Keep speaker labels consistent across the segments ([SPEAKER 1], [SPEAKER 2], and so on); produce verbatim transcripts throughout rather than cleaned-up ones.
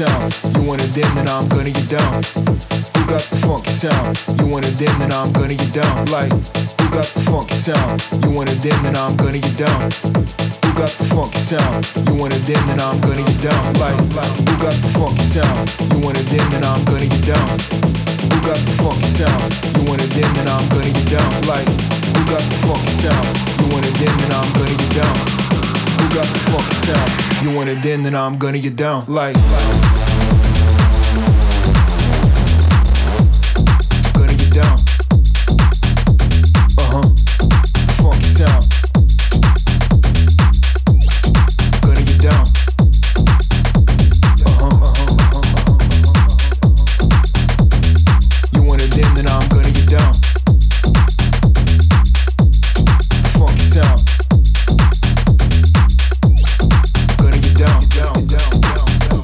[SPEAKER 1] sound? You want it then, then I'm gonna get down. Who got the funky sound? You want it then, then I'm gonna get down. Like, who got the funky sound? You want it then, then I'm gonna get down. Who got the funky sound? You want it then, then I'm gonna get down. Like, like, who got the funky sound? You want it then, then I'm gonna get down. Who got the funky sound? You want it then, then I'm gonna get down. Like, who got the funky sound? You want it then, then I'm gonna get down. Who got the funky sound? You want it then, then I'm gonna get down. Like, gonna get down. Uh huh. Funky sound. Gonna get down. Uh huh. Uh huh. Uh huh. You want it then, then I'm gonna get down. Funky sound. Gonna get down, down, down, down, down.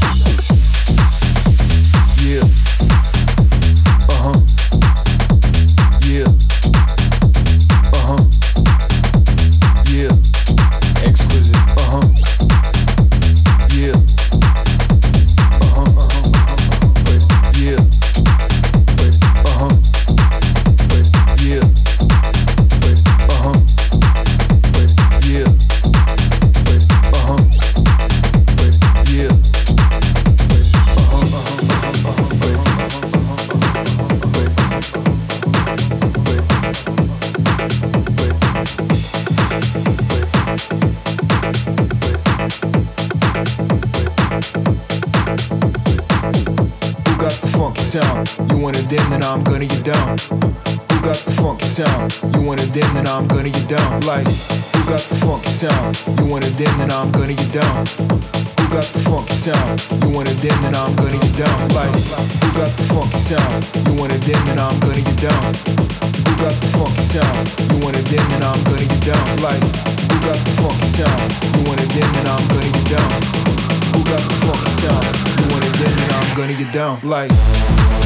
[SPEAKER 1] Yeah. Uh huh. Yeah. Uh huh. Yeah. Exquisite. Uh huh. Yeah. Uh huh. Uh huh. Wait. Yeah. Wait. Uh huh. Wait. Yeah. Wait. Uh huh. Wait. Yeah. Wait. Uh huh. Wait. Yeah. Wait. Uh huh. Uh huh. Uh huh. Wait. Wait. Wait. Wait. Who got the funky sound? You want it then, then I'm gonna get down. Who got the funky sound? You want it then, then I'm gonna get down. Like, who got the funky sound? You want it then, then I'm gonna get down. Who got the funky sound? You want it then, then I'm gonna get down. Like, who got the funky sound? You want it then, then I'm gonna get down. Who got the funky sound? You want it then, then I'm gonna get down. Like, who got the funky sound? You want it then, then I'm gonna get down. Who got the funky sound? You want it then, then I'm gonna get down. Like.